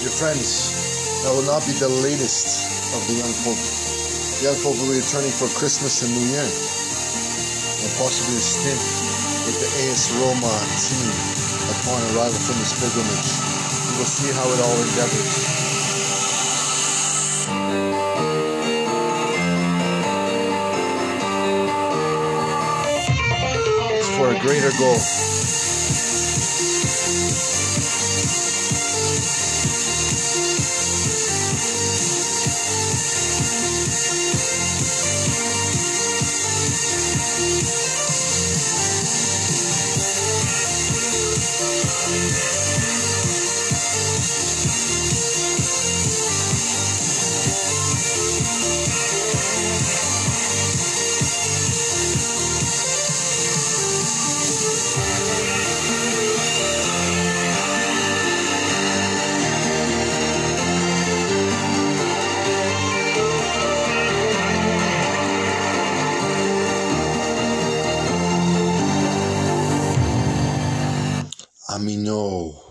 Dear friends, that will not be the latest of the young folk. The young folk will be returning for Christmas and New Year, and possibly a stint with the AS Roma team upon arrival from this pilgrimage. We will see how it all endeavors. It's for a greater goal. Amino.